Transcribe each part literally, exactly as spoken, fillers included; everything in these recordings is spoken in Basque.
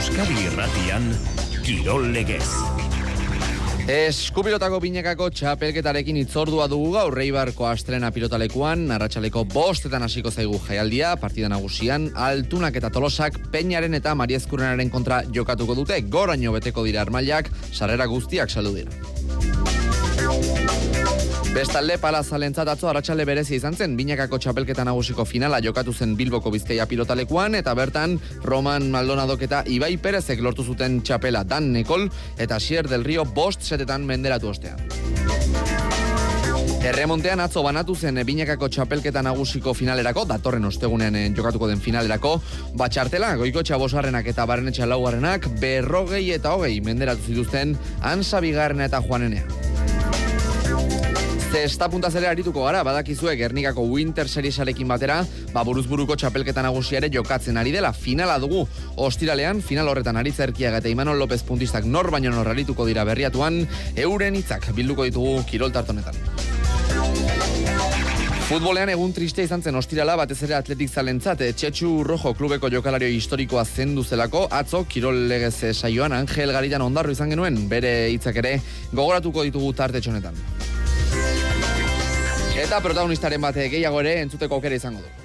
Euskadi Irratian, Kirol Legez. Eskupilotako binekako txapelketarekin itzordua dugu gaur Eibarko Astrena pilotalekuan, arratsaleko bostetan hasiko zaigu jaialdia, partida nagusian, Altunak eta Tolosak Peñaren eta Mariezkurrenaren kontra jokatuko dute, goraino beteko dira armailak, sarrera guztiak saldu dira. Bestalde, Palazalentzat atzo arratsalde berezi izan zen, binakako txapelketa nagusiko finala jokatu zen Bilboko Bizkaia pilotalekuan, eta bertan Roman Maldonadok eta Ibai Perezek lortu zuten txapela Dan Nekol eta Xier del Rio bost setetan menderatu ostean. Erremontean atzo banatu zen binakako txapelketa nagusiko finalerako, datorren ostegunean jokatuko den finalerako, batxartela, Goikotxa bosgarrenak eta Barrenetxa laugarrenak, berrogei eta hogei menderatu zituzten Ansa bigarrena eta Juanenea. Zesta puntazera arituko gara, badakizue Gernikako Winter Seriesarekin batera, ba buruzburuko txapelketa nagusiare jokatzen ari dela, finala dugu. Ostiralean, final horretan Aritz Erkiaga eta Imanol López puntistak nor baino nor arituko dira berriatuan, euren hitzak bilduko ditugu Kirol tartonetan. Futbolean egun triste izan zen ostirala, batez ere atletik zalentzat, Txetxu Rojo klubeko jokalario historikoa zendu zelako, atzo Kirol Legez saioan Angel Garitan ondarru izan genuen, bere hitzak ere gogoratuko ditugu tarte txonetan. Eta protagonistaren bate gehiago ere entzuteko aukera izango du.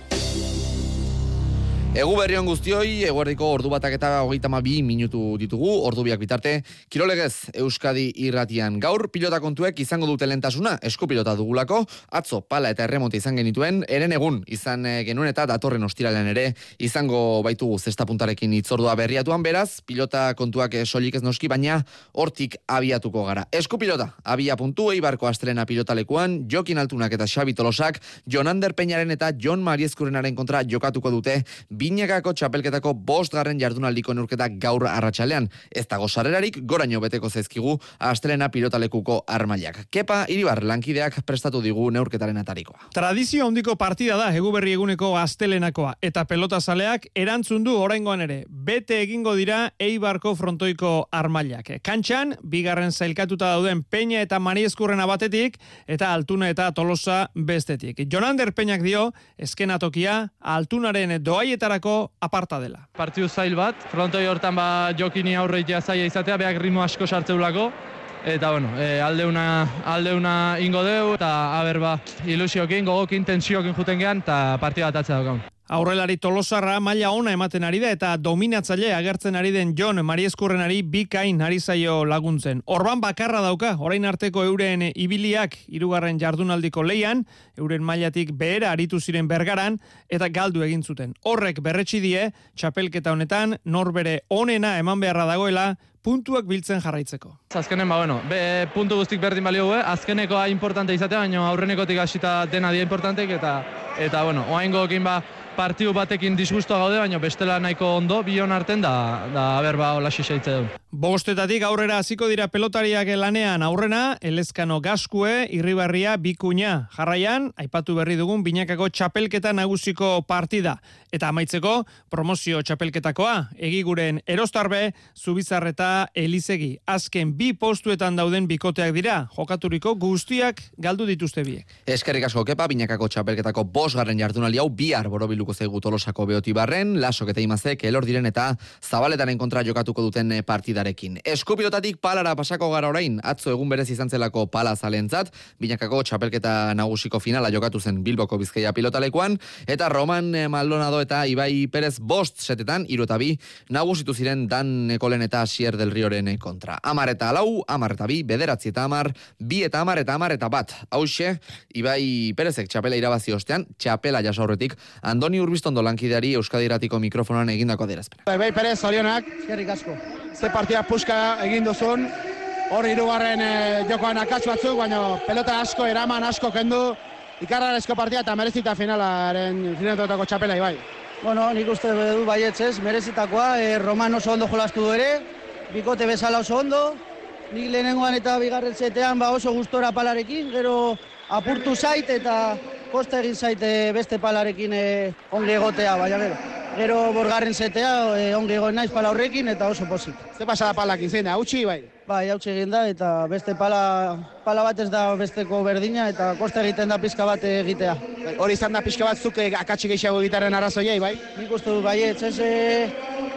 Egu berrion guztioi, eguerdiko ordu batak eta hogeita hamabi minutu ditugu, ordu biak bitarte, Kirol Legez Euskadi Irratian. Gaur pilota kontuek izango dute lehentasuna, eskupilota dugulako, atzo pala eta erremonte izan genituen, eren egun izan genuen eta datorren ostiralean ere izango baitugu zesta puntarekin itzordua berriatuan, beraz, pilota kontuak soilik ez noski, baina hortik abiatuko gara. Eskupilota, abia puntu, Eibarko Astrena pilotalekuan, Jokin Altunak eta Xabi Tolosak, Jonander Peñaren eta Jon Mariezkurrenaren kontra jokatuko dute, binakako txapelketako bost garren jardunaldiko neurketak gaur arratsalean. Ez dago sarrerarik, goraino beteko zaizkigu Astrena pilotalekuko armailak. Kepa Iribar lankideak prestatu digu neurketaren atarikoa. Tradizio handiko partida da Eguberri eguneko astelenakoa, eta pelotazaleak erantzun du oraingoan ere. Bete egingo dira Eibarko frontoiko armailak. Kantxan, bigarren zailkatuta dauden Peña eta Mariezkurrena batetik, eta Altuna eta Tolosa bestetik. Jonander Peñak dio, eskenatokia Altunaren doaietara aparta dela. Partidu zail bat, frontoi hortan ba Jokini aurreitea zaila izatea, beak ritmo asko sartzeulako, eta bueno, e, aldeuna, aldeuna ingo deu, eta haber ba, ilusiokin, gogokin, tensiokin juten gehan, eta partida bat atzea daukaun. Aurrelari Tolosarra maila ona ematen ari da eta dominatzaile agertzen ari den Jon Mariezkurrenari bikain ari zaio laguntzen. Orban bakarra dauka, orain arteko euren ibiliak hirugarren jardunaldiko leian, euren mailatik behera aritu ziren Bergaran eta galdu egin zuten. Horrek berretsi die, txapelketa honetan norbere onena eman beharra dagoela, puntuak biltzen jarraitzeko. Azkenen, ba, bueno, be, puntu guztik berdin balio gue, azkenekoa importante izatea, baina aurrenekotik hasita dena dia importantek, eta, eta bueno, oaingoekin ba, partidu batekin disgustoa gaude, baina bestela nahiko ondo, bion arten da, da haber ba, hola xisaitze du. Bostetatik aurrera hasiko dira pelotariak lanean aurrena, Elezkano Gaskue, Irribarria, Bikuña. Jarraian, aipatu berri dugun binakako txapelketa nagusiko partida. Eta amaitzeko, promozio txapelketakoa, Egiguren Erostarbe, Zubizarreta, Elizegi. Azken bi postuetan dauden bikoteak dira, jokaturiko guztiak galdu dituzte biek. Eskerrik asko Kepa, binakako txapelketako bosgarren jardunaldi hau bihar borobiluko zaigu Tolosako Beotibarren, Lasok eta Imazek elor diren eta Zabaletaren kontra jokatuko duten partidarekin. Eskupilotatik palara pasako gara orain, atzo egun berez izan zelako pala zalentzat, binakako txapelketa nagusiko finala jokatu zen Bilboko Bizkaia pilotalekuan, eta Roman Maldonado eta Ibai Perez bost setetan, hiru eta bi, nagusitu ziren Dan Nekolen eta Xier del Rioren kontra. Amar eta lau, amar eta bi, bederatzi eta amar, bi eta amar eta amar eta bat. Hauxe, Ibai Perezek txapela irabazi ostean, txapela jasaurretik, Andoni Urbiztondo lankideari Euskadi Irratiko mikrofonan egindako adierazpena. Ibai Perez, zorionak. Eskerrik asko. Ze partida puska egin duzun, hor hirugarren e, jokoan akats batzuk, baina pelota asko, eraman asko kendu, ikarrarezko partida eta merezita finalaren finaletako txapela Ibai. Bueno, nik uste du baietz, merezitakoa, e, Roman oso ondo jolastu du ere, bikote bezala oso ondo, nik lehenengoan eta bigarren zetean ba oso gustora palarekin, gero apurtu zait eta kosta egin zaite beste palarekin e, onge egotea, baina gero. Gero borgarren zetea e, onge egoen naiz pala horrekin eta oso pozik. Ze pasada palakin zein da, hautsi bai? Bai, hautsi egin da eta beste pala, pala bat ez da besteko berdina eta kosta egiten da pizka bat egitea. Hori izan da pizka bat zuk akatsi gehiago egitaren arrazoiei, bai? Nik uste dut baietz, ez... E,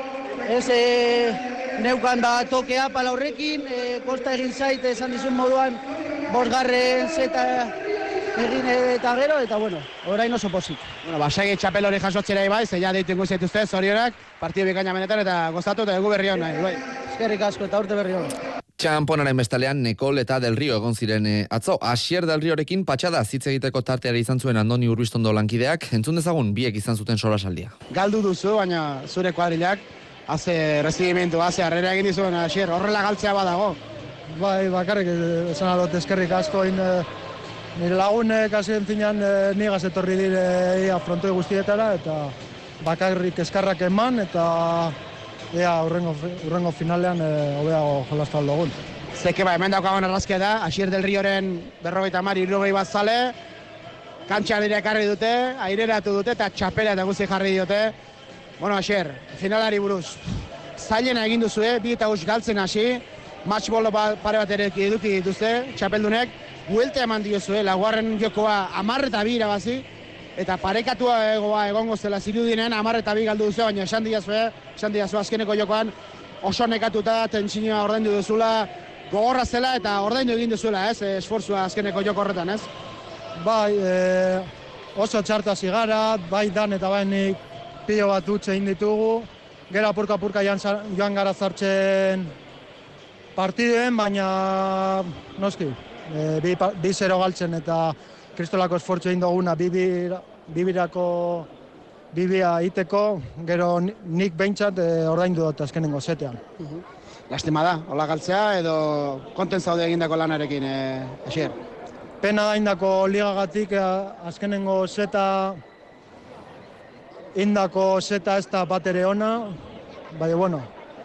Ez e, neukan da tokea pala horrekin, e, kosta egin zait esan dizun moduan bosgarren zeta egin eta gero, eta bueno, orain oso pozik. Bueno, basagi txapel hori jasotzera bai, ze ja deitu ingo zaituzte, zorionak, partidu bikaina benetan eta gozatu eta egu berri hona, bai. Eskerrik asko eta urte berri hona. Txamponaren bestalean Nekol eta Del Rio egon ziren e, atzo. Asier Del Riorekin patxada hitz egiteko tarteari izan zuen Andoni Urbistondo lankideak, entzun dezagun biek izan zuten solasaldia. Galdu duzu, baina zure kuadrilak, haze resigimentu, haze harrera egin dizuen, Asier, horrela galtzea badago. Bai, bakarrik esan alot eskerrik asko, in, nire lagunek hasien zinean nigaz etorri dire ia frontoi guztietara, eta bakarrik eskarrak eman, eta ea urrengo, urrengo finalean hobeago e, jolastu aldogun. Zeke ba, hemen daukagun arrazkia da, Asier Del Rioren berrogeita mari irrogei bat zale, kantxarira ekarri dute, aireratu dute eta txapela eta guzti jarri diote. Bueno, Asier, finalari buruz, zailena egin duzue, bi eta guzti galtzen hasi, matchball pare bat ere eduki dituzte, txapeldunek, buelta eman diozue, laugarren jokoa hamar eta bi irabazi, eta parekatua egoa egongo zela zirudinen hamar eta bi galdu duzu, baina esan diazue, esan diazue azkeneko jokoan oso nekatuta, tentsinioa ordaindu duzula, gogorra zela eta ordaindu egin duzuela, ez, esfortzua azkeneko joko horretan, ez? Bai, e, oso txarta zigara, bai dan eta bai nik pilo bat dutxe egin ditugu, gero apurka-apurka joan gara zartzen partiduen, baina noski, e, bi, bi zero galtzen eta kristolako esfortzu egin duguna bibirako bibia iteko, gero nik behintzat e, ordaindu dut azkenengo zetean. Uh-huh. Lastima da, hola galtzea edo konten zaude egindako lanarekin, e, Asier? Pena da indako ligagatik, e, azkenengo zeta indako zeta ez da bat ere ona, baina bueno,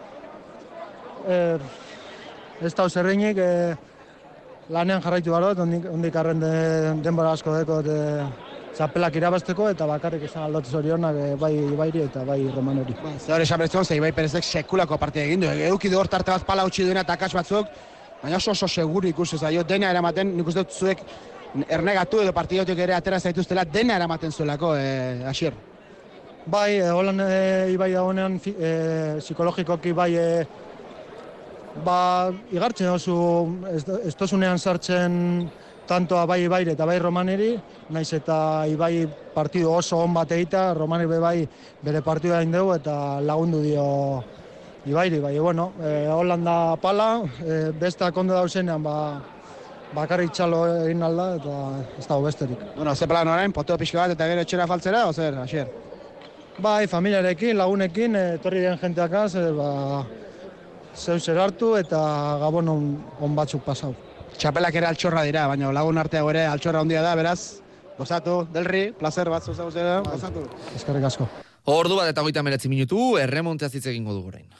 e, ez da zerreinik, e, lanean jarraitu gara, ondik arren de, denbora asko deko de, txapelak irabazteko eta bakarrik izan aldot zorionak e, bai Ibairi eta bai Romanori. Ba, ze hori esan bertzen, ze Ibai Perezek sekulako partida egin du, eduki du hor tarte bat pala utzi duena eta akats batzuk, baina oso oso seguru ikusi zaio, dena eramaten, nik uste dut zuek ernegatu edo partidotik ere atera zaituztela, dena eramaten zuelako, e, Asier. Bai, e, holan e, Ibai da honean, e, psikologikoki bai, e, ba, igartzen oso, ez, ez tozunean sartzen tantoa bai Ibaire eta bai Romaneri, naiz eta Ibai partidu oso on bat egita, Romani bai bere partidua egin dugu eta lagundu dio Ibairi, bai, bueno, e, Holanda pala, e, bestak ondo dauzenean, ba, bakarrik txalo egin alda eta ez dago besterik. Bueno, ze plan orain, poteo pixka bat eta gero etxera faltzera, o zer, Asier? Bai, familiarekin, lagunekin, etorri den jenteakaz, e, ba, zeu zer hartu eta gabon on, on batzuk pasau. Txapelak ere altxorra dira, baina lagun arteago ere altxorra handia da, beraz, gozatu, Delri, placer bat zuzaguzera, gozatu. Eskerrik asko. Ordu bat eta hogeita hemeretzi minutu, erremonteaz hitz egingo dugu orain.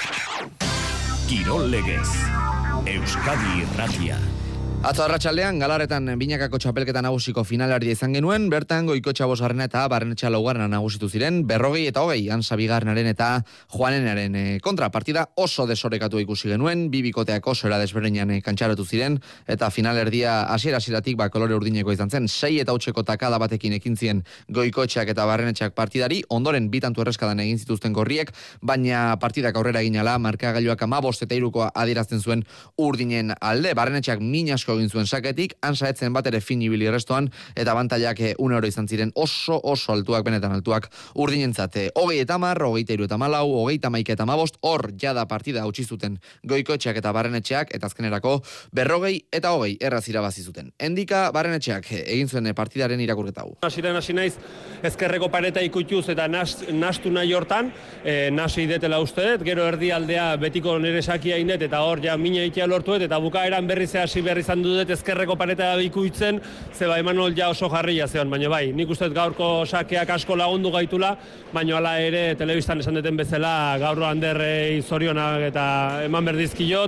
Kirol Legez, Euskadi Irratia. Atzo arratsaldean Galarretan binakako txapelketa nagusiko finalardia izan genuen, bertan Goikotxa bosgarrena eta Barrenetxa laugarrena nagusitu ziren, berrogei eta hogei Ansa bigarrenaren eta Juanenaren kontra partida oso desorekatu ikusi genuen, bi bikoteak oso era desberdinean kantxaratu ziren, eta finalerdia hasiera-hasieratik ba kolore urdineko izan zen, sei eta hautseko takada batekin ekin zien Goikotxak eta Barrenetxak partidari, ondoren bi tantu erreskadan egin zituzten gorriek, baina partidak aurrera egin ala, markagailuak hamabost eta hirukoa adierazten zuen urdinen alde, Barrenetxak min asko egin zuen saketik, Ansa etzen bat ere fin ibili restoan, eta bantaiak une oro izan ziren oso oso altuak, benetan altuak urdinentzat. Hogei eta mar, hogeita hiru eta malau, hogeita maika eta mabost, hor jada partida hautsi zuten Goikotxeak eta Barrenetxeak, eta azkenerako berrogei eta hogei erraz irabazi zuten. Endika Barrenetxeak egin zuen partidaren irakurketa hau. Hasiren hasi naiz ezkerreko pareta ikutuz eta nastu nahi hortan, e, nasi idetela uste dut, gero erdialdea betiko nire sakia inet, eta hor ja mina itea lortu dut, eta bukaeran berriz hasi berri izan dut ezkerreko pareta ikuitzen, zeba Emanol ja oso jarria zeon, baina bai, nik uste gaurko sakeak asko lagundu gaitula, baina hala ere telebistan esan deten bezala gaur handerrei zorionak eta eman berdizkiot,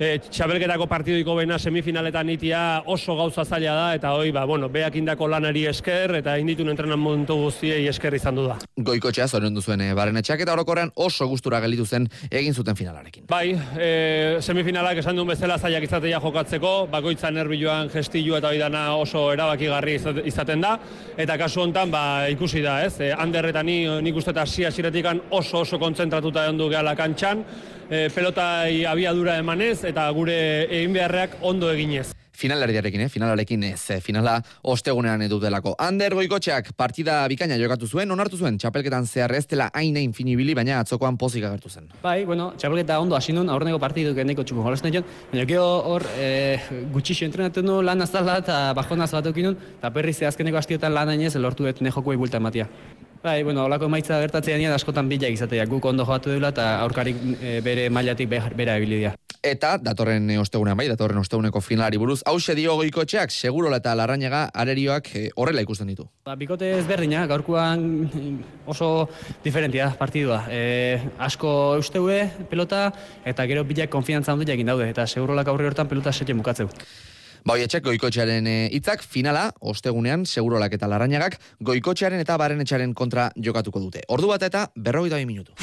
e, txabelketako partidiko bena semifinaletan itia oso gauza zaila da, eta hoi, ba, bueno, beak indako lanari esker, eta inditun entrenamentu guztiei esker izan du da. Goikotxea zorion duzuen Barrenetxeak, eta orokorrean oso gustura gelditu zen egin zuten finalarekin. Bai, e, semifinalak esan duen bezala zailak izatea jokatzeko, bakoitza nervioan gestilu eta oidana oso erabakigarri izaten da, eta kasu hontan ba, ikusi da, ez? E, Ander eta ni, nik uste eta hasi hasieratikan oso oso kontzentratuta egon du gehala kantxan, e, pelotai abiadura emanez, eta gure egin beharreak ondo eginez. Finalerdiarekin, eh? Finalarekin ez, finala ostegunean edutelako. Ander Goikotxeak partida bikaina jokatu zuen, onartu zuen, txapelketan zehar ez dela hain finibili, baina atzokoan pozik agertu zen. Bai, bueno, txapelketa ondo hasi nun, aurreneko partiduk eneko txuko jolasten joan, baina gero hor e, gutxixo entrenatu nu lan azala eta bajonaz bat okinun, eta perri ze azkeneko hastiotan lan ainez lortu dut nejokuei bulta ematia. Bai, bueno, holako emaitza gertatzea nian askotan bilak izatea, guk ondo jokatu dela eta aurkarik e, bere mailatik bera ebilidia. Eta datorren ostegunean bai, datorren osteguneko finalari buruz, hause dio Goikotxeak, Segurola eta Larrañaga arerioak e, horrela ikusten ditu. Ba, bikote ezberdina, gaurkoan oso diferentia partidua. E, asko eusteue pelota eta gero bilak konfiantza handiak egin daude, eta Segurolak aurre hortan pelota sete bukatzeu. Ba, hoietxek Goikotxearen hitzak finala, ostegunean, Segurolak eta Larrañagak Goikotxearen eta Barrenetxearen kontra jokatuko dute. Ordu bat eta berrogeita bi minutu.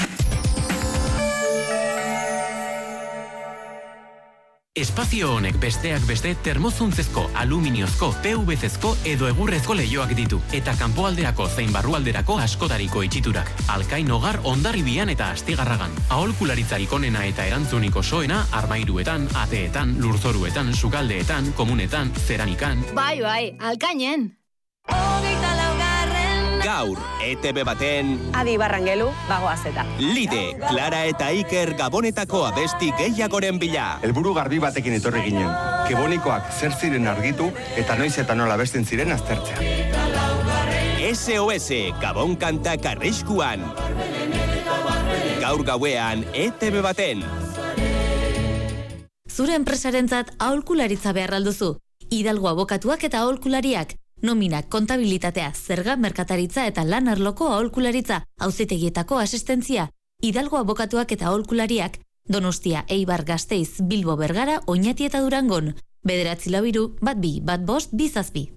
Espazio honek besteak beste termozuntzezko, aluminiozko, P V C-ezko edo egurrezko leioak ditu. Eta kanpoalderako zein barrualderako askotariko itxiturak. Alkain hogar Hondarribian eta Astigarragan. Aholkularitzarik onena eta erantzuniko soena armairuetan, ateetan, lurzoruetan, sukaldeetan, komunetan, zeranikan. Bai, bai, alkainen. Gaur, E T B baten... Adi Barrangelu, bagoaz eta. Lide, Clara eta Iker Gabonetako abesti gehiagoren bila. Helburu garbi batekin etorri ginen. Gabonikoak zer ziren argitu eta noiz eta nola abesten ziren aztertzea. S O S, Gabon kantak arriskuan. Gaur gauean, E T B baten. Zure enpresarentzat aholkularitza behar alduzu. Hidalgo abokatuak eta aholkulariak. Nominak, kontabilitatea, zerga, merkataritza eta lan arloko aholkularitza, auzitegietako asistentzia, Hidalgo abokatuak eta aholkulariak, Donostia, Eibar, Gasteiz, Bilbo, Bergara, Oñati eta Durangon. Bederatzi labiru, bat bi, bat bost, bizazbi.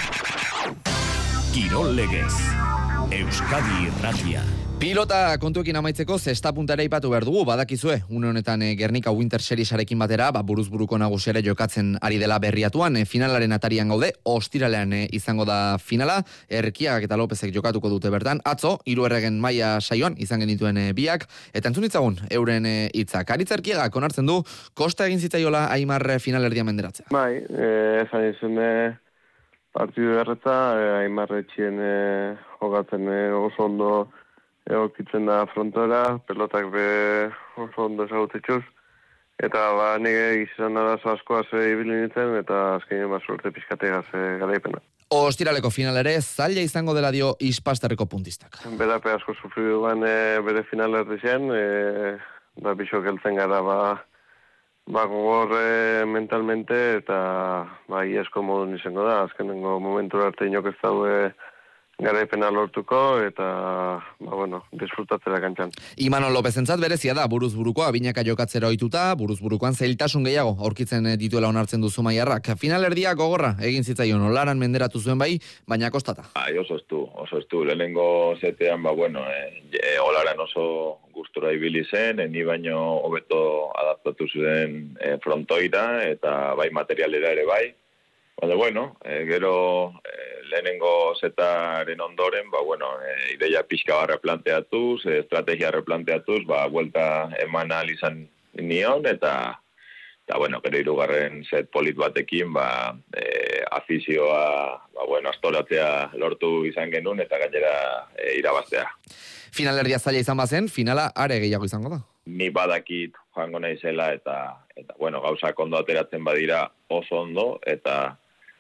Kirol legez, Euskadi Irratia. Pilota kontuekin amaitzeko zesta puntara ipatu behar dugu, badakizue, une honetan e, Gernika Winter Seriesarekin batera, ba, buruz buruko nagusiare jokatzen ari dela berriatuan, e, finalaren atarian gaude, ostiralean e, izango da finala, Erkiak eta Lopezek jokatuko dute bertan, atzo, hiru erregen maila saioan izan genituen e, biak, eta entzun ditzagun, euren e, hitzak. Aritz Erkiagak onartzen du, kosta egin zitzaiola Aimar finalerdia menderatzea. Bai, eh, esan izun e, partidu erretza, e, Aimar etxien e, jokatzen e, oso ondo egokitzen da frontora, pelotak be oso ondo ezagutetxuz, eta ba, nire gizan arazo askoaz ibili nintzen, eta azkenean ba, suerte pizkategaz e, garaipena. Ostiraleko final ere, zaila izango dela dio Ispasterreko puntistak. Berape asko sufridu ban e, bere final erdizien, e, da bixok heltzen gara ba, ba gogor e, mentalmente, eta ba, iesko modun izango da, azkenengo momentura arte inok ez daude garaipena lortuko, eta, ba, bueno, disfrutatzera kantxan. Imanol Lopezentzat berezia da, buruz burukoa, binaka jokatzera ohituta, buruz burukoan zailtasun gehiago aurkitzen dituela onartzen duzu Maiarrak. Finalerdia gogorra egin zitzaion, olaran menderatu zuen bai, baina kostata. Bai, oso estu, oso estu. Lehenengo zetean, ba, bueno, e, olaran oso gustura ibili zen, e, ni baino hobeto adaptatu zuen e, frontoira, eta bai materialera ere bai. Baina, bueno, e, gero e, lehenengo zetaren ondoren, ba, bueno, e, ideia pixka barra planteatuz, e, estrategia replanteatuz, ba, vuelta eman ahal izan nion, eta, eta bueno, gero hirugarren set polit batekin, ba, e, afizioa, ba, bueno, astoratzea lortu izan genuen, eta gainera e, irabaztea. Finalerdia zaila izan bazen, finala are gehiago izango da. Ni badakit joango naizela, eta, eta bueno, gauzak ondo ateratzen badira oso ondo, eta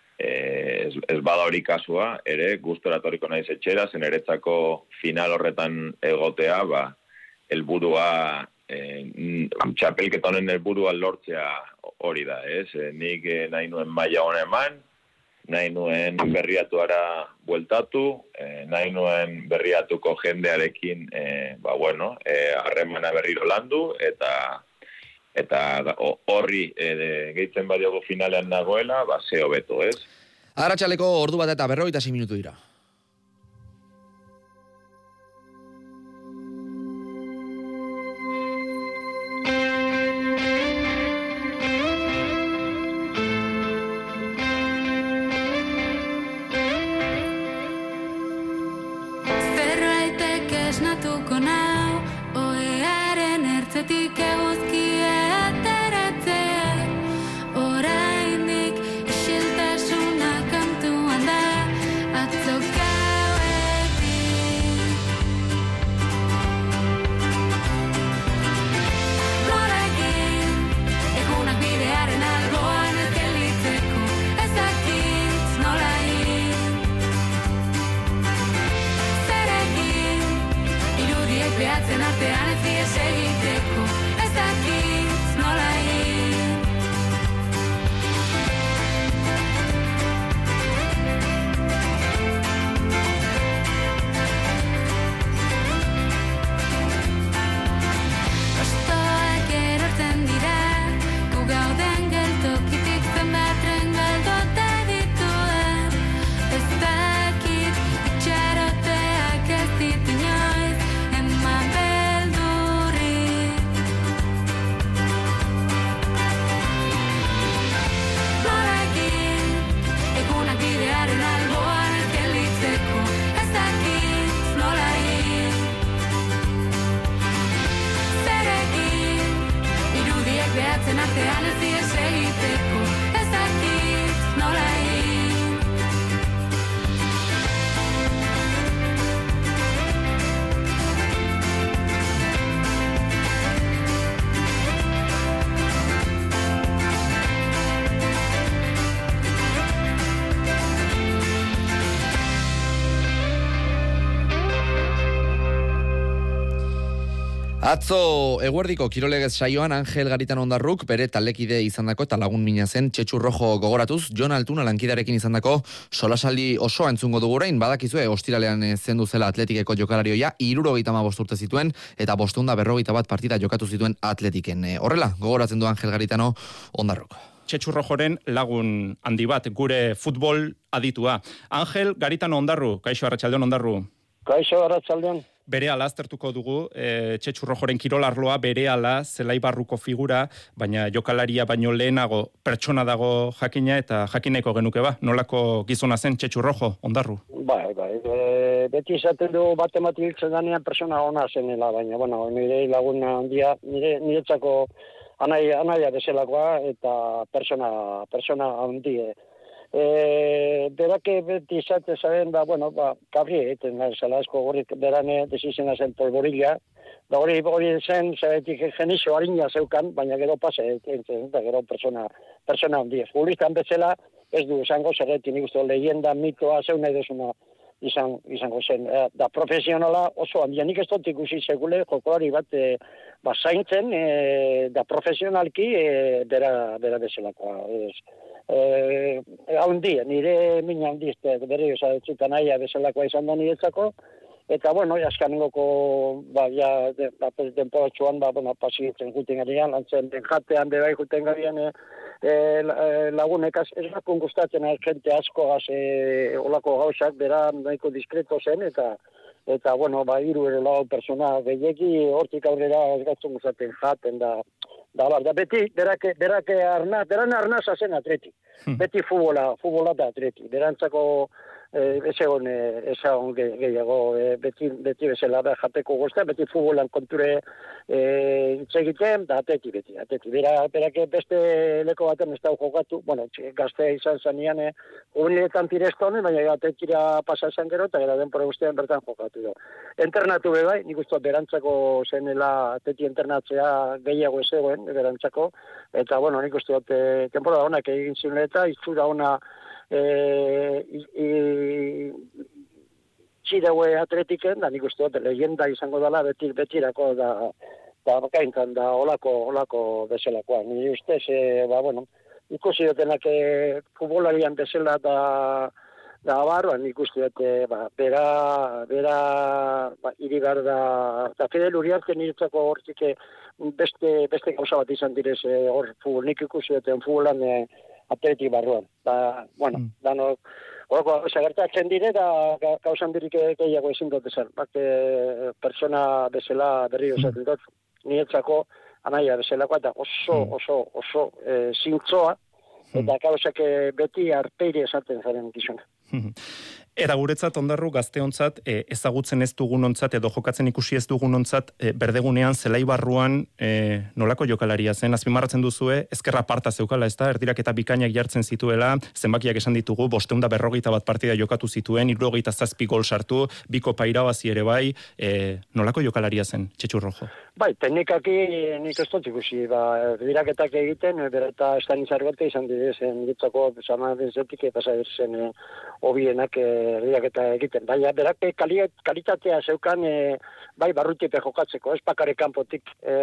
Ez, ez bada hori kasua, ere gustora etorriko naiz etxera, zen eretzako final horretan egotea, ba, helburua, e, txapelketa honen helburua lortzea hori da, ez? E, nik e, nahi nuen maila hona eman, nahi nuen berriatuara bueltatu, e, nahi nuen berriatuko jendearekin, e, ba bueno, e, harremana berriro landu, eta eta horri e, gehitzen badiogu finalean nagoela, ba, ze hobeto, ez? Arratsaleko ordu bat eta berrogeita sei minutu dira. Zerbaitek esnatuko nau, oearen ertzetik eguzkia ateratzea, oraindik isiltasuna kantuan da, atzo gauetik. Nola egin, egunak bidearen alboan ez gelditzeko, ez dakit nola egin. Zer egin, irudiek behatzen artean ez dies egiteko, ez dakit nola egin. Hostoak erortzen dira, gu gauden geltokitik zenbat tren galduta dituen. Ez dakit itxaroteak ez dit inoiz eman beldurrik. Nola egin, egunak bidearen alboan ez gelditzeko, ez dakit nola egin. Zer egin, irudiek behatzen artean ez dies egiteko, ez dakit nola egin. Atzo eguerdiko kirolegez saioan Angel Garitan Ondarruk bere talekide izandako eta lagun mina zen Txetxu Rojo gogoratuz, Jon Altuna lankidarekin izandako solasaldi osoa entzungo dugu orain, badakizue ostiralean zendu zela Atletikeko jokalarioia, hirurogeita hamabost urte zituen eta bostehun eta berrogeita bat partida jokatu zituen Atletiken. E, horrela, gogoratzen du Angel Garitano Ondarruk. Txetxu Rojoren lagun handi bat, gure futbol aditua. Angel Garitano Ondarru, kaixo arratsaldeon Ondarru. Kaixo arratsaldeon. Berehala aztertuko dugu, e, Txetxu Rojoren kirolarloa berehala zelai barruko figura, baina jokalaria baino lehenago pertsona dago jakina eta jakineko genuke ba, nolako gizona zen Txetxu Rojo, Ondarru? Bai, bai, e, beti izaten du bat ematik hiltzen danean persona ona zenela, baina, bueno, nire laguna handia, nire niretzako anai, anaia bezalakoa eta persona, persona handie. E, berake beti izate zaren, ba, bueno, ba, kabri egiten, zela asko gorrik berane desizena zen polborila, da hori hori zen, zaretik genixo harina zeukan, baina gero pase egiten, eta gero persona, persona handia. Futbolistan bezala, ez du esango, zerretik nik uste leyenda, mitoa, zeu nahi desuna izan, izango zen. E, da profesionala oso handia, nik ez dut ikusi segule, jokolari bat, e, ba, zaintzen, e, da profesionalki, e, bera, bera bezalakoa, ez. Eh, haundi, nire mina handi, berri osatzen naia bezalakoa izan da niretzako, eta, bueno, jaskanengoko, ba, ja, de, ba, denporatxuan, ba, bueno, pasitzen juten garian, lantzen den jatean, bebai juten garian, e, e, lagunek, ez lakun gustatzen jente asko, az, e, olako gauzak, bera nahiko diskreto zen, eta, eta, bueno, ba, hiru ere lau persona gehiegi, hortik aurrera ez gatzen gustatzen jaten, da, Da, da, beti, berake, berake arna, beran arnaza zen atleti. Hmm. Beti futbola, futbola da atleti. Berantzako eh, ez egon, eh, ez egon gehiago, eh, beti, beti bezala da jateko gozta, beti futbolan konture eh, egiten, da atleti beti, atleti. Bera, berake beste leko baten ez da jokatu, bueno, gaztea izan zanean, eh, jubiletan tireztone, baina atletira pasa esan gero, eta gara denpora guztian bertan jokatu do. Internatu bebai, nik uste berantzako zenela atleti internatzea gehiago ez egoen, berantzako, eta, bueno, nik uste dut, e, temporada honak egin ziren eta itzura ona e, txidaue atletiken, da nik uste dut, leyenda izango dela beti, betirako da, da bakaintan da olako, olako bezalakoa. Ni ustez, e, ba, bueno, ikusi dutenak e, futbolarian bezala da Da, barruan ikuste dut, ba, bera, bera, ba, iri behar da, eta Fidel Uriarte niretzako hortik beste, beste gauza bat izan direz, hor, futbol, nik ikusi duten futbolan e, atletik barruan. Da, bueno, mm. danok, horoko gauza gertatzen dire, da gauzan dirik gehiago ezin dut esan. Bak, e, persona bezala berri osatzen dut, niretzako anaia bezalakoa, eta oso, oso, oso e, zintzoa, eta gauzak beti arpeire esaten zaren gizuna. Eta guretzat ondarru gazteontzat e, ezagutzen ez dugunontzat edo jokatzen ikusi ez dugunontzat e, berdegunean zelai barruan e, nolako jokalaria zen, azpimarratzen duzue, ezkerra parta zeukala, ez da, erdirak eta bikainak jartzen zituela, zenbakiak esan ditugu, bosteunda berrogeita bat partida jokatu zituen, hirurogeita zazpi gol sartu, biko pairabazi ere bai, e, nolako jokalaria zen, Txetxu Rojo? Bai, teknikaki nik ez dut ikusi, ba, erdiraketak egiten, bera eta estanizar bate izan didezen, ditzako, zama benzetik, pasa zen e, obienak e, erdiraketa egiten. Baina berak kalitatea zeukan e, bai barrutipe jokatzeko, ez bakare kanpotik. E,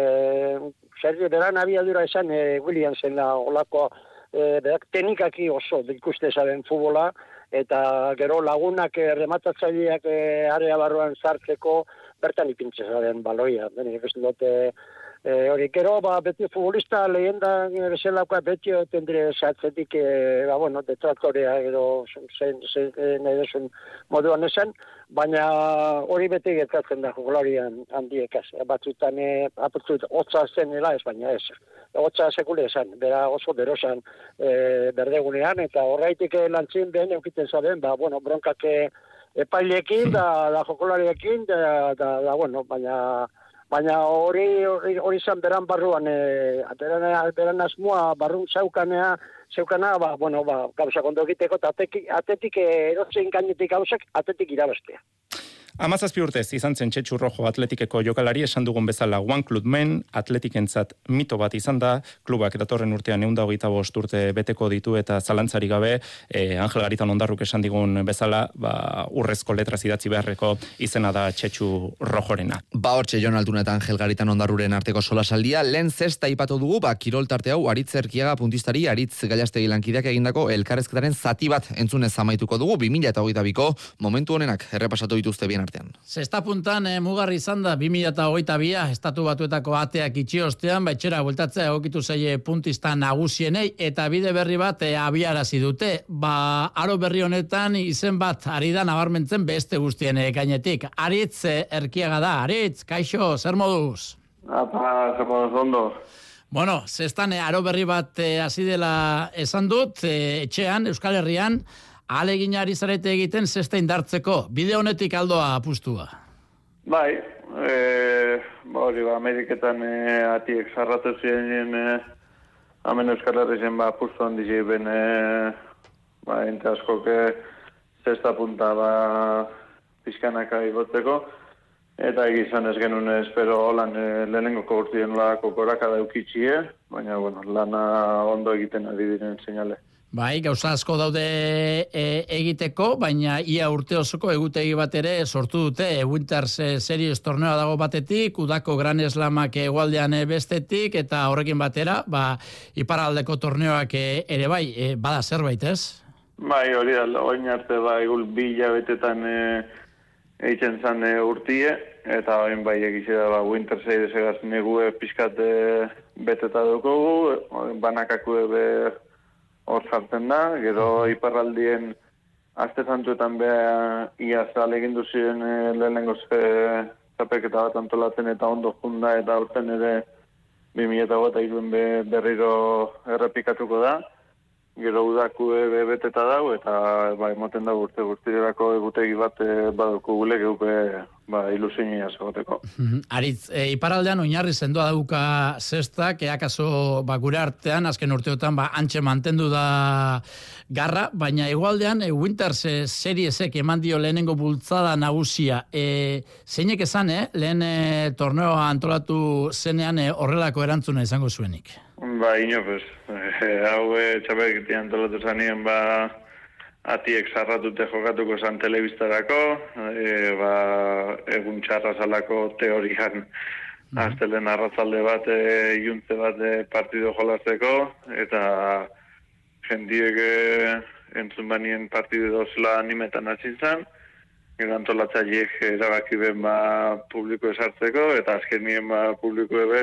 zer, beran abiadura esan e, Williamsen la olako e, berak teknikaki oso ikuste zaren futbola, eta gero lagunak e, rematatzaileak e, area barruan sartzeko bertan ipintze zaren baloia. Bene, ikusten dute E, hori, gero, ba, beti futbolista lehenda bezalakoa beti tendre zatzetik, e, ba, bueno, detraktorea edo zen, zen, nahi desun moduan esan, baina hori beti gertatzen da jokolarian handiekaz. Batzutan, e, aputzut, hotza zenela ez, baina ez. Hotza sekule esan, bera oso berosan e, berdegunean, eta horreitik lantzin ben eukiten zaben, ba, bueno, bronkak epailekin, da, da jokolariekin, da, da, da, bueno, baina... Baina hori hori hori izan beran barruan, e, beran, beran asmoa barrun zeukanea, zeukana, ba, bueno, ba, gauza kondo egiteko, eta atetik, atetik erotzen gainetik gauzak, atetik irabestea. Amazazpi urtez izan zen Txetxu Rojo atletikeko jokalari, esan dugun bezala One Club Men, atletikentzat mito bat izan da, klubak datorren urtean ehun eta hogeita bost urte beteko ditu eta zalantzari gabe, eh, Angel Garitan Ondarruk esan digun bezala, ba, urrezko letraz idatzi beharreko izena da Txetxu Rojorena. Ba hortxe Jon Altuna eta Angel Garitan Ondarruren arteko solasaldia, lehen zesta ipatu dugu, ba, kirol tarte hau Aritz Erkiaga puntistari, Aritz Gallastegi lankideak egindako elkarrezketaren zati bat entzunez amaituko dugu, bi mila hogeita biko momentu honenak errepasatu dituzte bien artean. Zesta puntan e, mugarri izan da bi mila hogeita bia, estatu batuetako ateak itxi ostean, baitxera bueltatzea egokitu zaie puntista nagusienei, eta bide berri bat e, abiarazi dute. Ba, aro berri honetan izen bat ari da nabarmentzen beste guztien e, gainetik. Aritz e, Erkiaga da, Aritz, kaixo, zer moduz? Apa, zer moduz ondo. Bueno, zestan e, aro berri bat e, hasi dela esan dut, e, etxean, Euskal Herrian, alegin ari zarete egiten zesta indartzeko. Bide honetik aldoa apustua. Bai, e, ba hori, ba, Ameriketan e, atiek zarratu ziren e, hemen Euskal Herrien ba, apustu handi ziren e, ba, ente askok e, zesta punta ba, pizkanaka igotzeko, eta egizan ez genuen espero holan e, lehenengoko urtien lako koraka daukitxie, baina bueno, lana ondo egiten ari diren seinale. Bai, gauza asko daude e, egiteko, baina ia urte osoko egutegi bat ere sortu dute. Winters Series torneoa dago batetik, udako Gran Slamak egualdean bestetik, eta horrekin batera, ba, iparaldeko torneoak ere bai, e, bada zerbait, ez? Bai, hori da, oin arte bai, gul bi hilabetetan e, egiten zan e, urtie, eta oin bai egizia ba, Winters Series egaz negue pixkat e, beteta dugu, banakakue be hor sartzen da, gero iparraldien aste zantuetan beha iaz alegin duzien e, lehenengo ze zapeketa bat antolatzen eta ondo junda eta aurten ere bi mila hogeita hiruen be, berriro errepikatuko da. Gero udaku be beteta dago eta ba, emoten da urte guztirerako egutegi bat e, baduko gule geupe ba, ilusionia segoteko. Aritz, e, iparaldean oinarri sendoa dauka zestak, eakaso ba, gure artean, azken urteotan ba, antxe mantendu da garra, baina igualdean e, Winters e, Seriesek eman dio lehenengo bultzada nagusia. E, zeinek esan, eh? lehen e, torneoa antolatu zenean e, horrelako erantzuna izango zuenik? Ba, ino, pues, eh, hau e, txapelketi antolatu zanien, ba, atiek zarratute jokatuko zan telebistarako, e, ba, egun txarra zalako teorian, mm. aztelen arratzalde bat, e, iuntze bat e, partido jolazteko, eta jendiek e, entzun banien partidu dozela animetan hasi zan, gero antolatzaileek erabaki ben ba publiko esartzeko, eta azkenien ba publiko ebe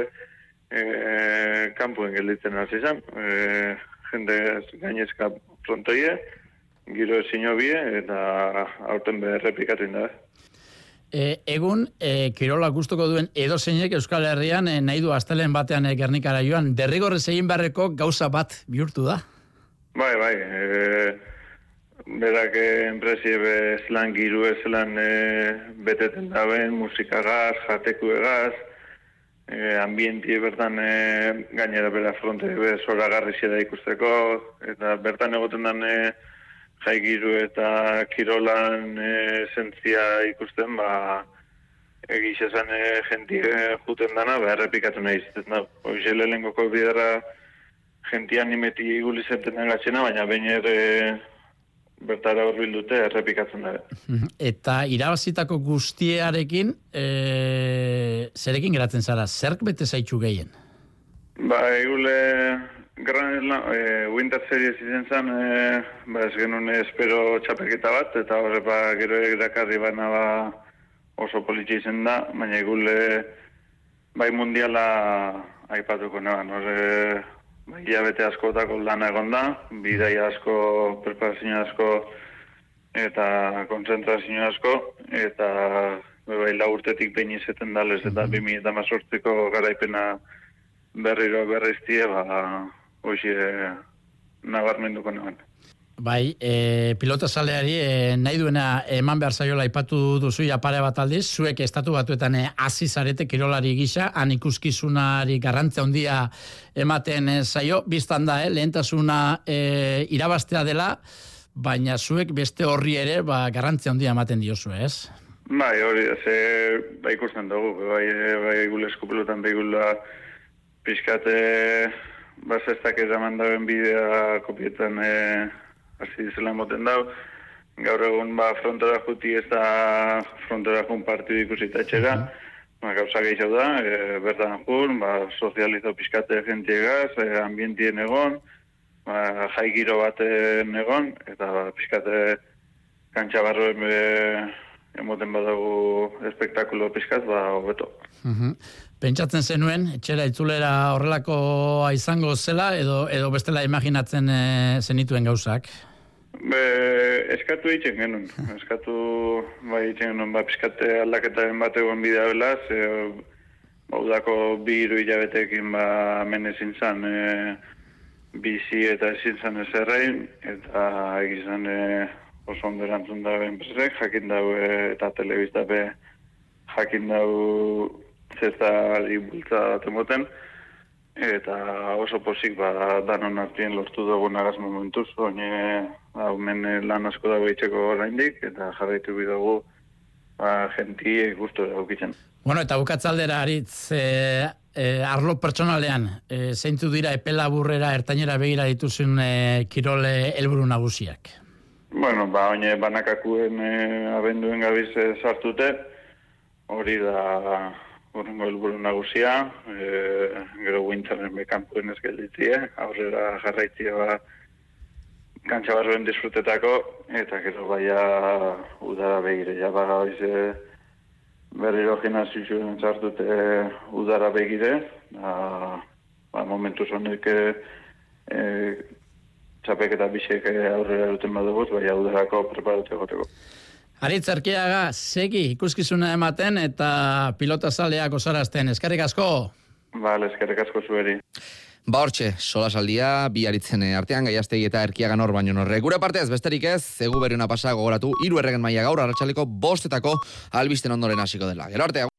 e, kanpoen gelditzen hasi zan. E, jende gainezka frontoie, giro ezin hobie, eta aurten be errepikatu da. E, egun, e, kirola gustuko duen edozeinek Euskal Herrian e, nahi du astelen batean e, Gernikara joan, derrigorrez egin beharreko gauza bat bihurtu da? Bai, bai, e, berak enpresie bezlan, giru ezlan e, beteten daben, musikagaz, jateku egaz, e, ambientie bertan e, gainera bera fronte be zoragarri zera ikusteko, eta bertan egoten dan e, jai giru eta kirolan e, zentzia ikusten, ba, egiz esan e, jentie juten dana, ba, errepikatu nahi izaten da. Hoxe lehengoko bidera jentia animeti gulizenten agatzena, baina baina ere bertara horbil dute errepikatzen da. Eta irabazitako guztiarekin, e, zerekin geratzen zara, zerk bete zaitxu gehien? Ba, egule Gran eh, Winter Series izen zen, eh, ba, ez genuen espero txapeketa bat, eta horre ba, gero erakarri bana ba, oso politxe izen da, baina egule bai mundiala aipatuko neban, horre bai hilabete askotako lana egon da, bidaia asko, preparazio asko, eta konzentrazio asko, eta bai lau urtetik behin izeten dalez, eta bi mila hemezortziko garaipena berriro berriztie, ba, hoxe nabarmenduko neban. Bai, e, pilota zaleari e, nahi duena eman behar zaiola aipatu duzu ja pare bat aldiz, zuek estatu batuetan e, hasi zarete kirolari gisa, han ikuskizunari garrantzia handia ematen e, zaio, biztan da, eh, lehentasuna e, irabaztea dela, baina zuek beste horri ere ba, garrantzia handia ematen diozu, ez? Bai, hori, ze, bai ikusten dugu, bai, bai gulezko pilotan, bai gula pixkate bazestak eraman dauen bidea kopietan e, hasi dizela moten dau. Gaur egun ba, frontora juti ez da frontora jun partidu ikusita etxera. Ba, gauza gehiago da, e, bertan jun, ba, sozializo pixkate jentiegaz, e, ambientien egon, ba, jai giro baten egon, eta ba, pixkate kantxabarroen be, emoten badago espektakulo pixkat, ba, hobeto. Uh-huh. Pentsatzen zenuen, etxera itzulera horrelakoa izango zela, edo edo bestela imaginatzen e, zenituen gauzak? Be, eskatu itxen genuen. Eskatu bai itxen genuen, ba, pixkate aldaketaren bat egon bidea belaz, e, ba, udako bi hiru hilabetekin ba, hemen ezin zan e, bizi eta ezin zan ezerrein, eta egizan e, oso ondo erantzun da enpresek, jakin dau e, eta telebiztape jakin dau zestari bultza bat emoten, eta oso posik ba, danon artien lortu dugu nagaz momentuz, oine haumen lan asko dago itxeko oraindik, eta jarraitu bidugu ba, jentie gustu daukitzen. Bueno, eta bukatzaldera aritz, e, e, arlo pertsonalean, e, zeintzu dira epelaburrera ertainera begira dituzun e, kirole helburu nagusiak? Bueno, ba, oine banakakuen e, abenduen gabiz e, sartute, hori da horrengo helburu nagusia, e, gero winterren bekampuen ez gelditie, aurrera jarraitzia ba, kantxabarroen disfrutetako, eta gero baia udara begire, ja baga hoize berriro gimnasiuen sartute udara begire, ba, ba, momentu zonek e, e, txapeketa bisek aurrera duten baduguz, baina udarako preparatu egoteko. Aritz Arkiaga, segi ikuskizuna ematen eta pilota zaleak osarazten. Eskerrik asko? Bale, eskerrik asko zueri. Ba hortxe, solasaldia, bi aritzen artean, Gaiastegi eta Erkiagan hor baino norre. Gure partez, besterik ez, zegu berriuna pasa gogoratu, hiru erregen maila gaur, arratsaleko bostetako albisten ondoren hasiko dela. Gero arte,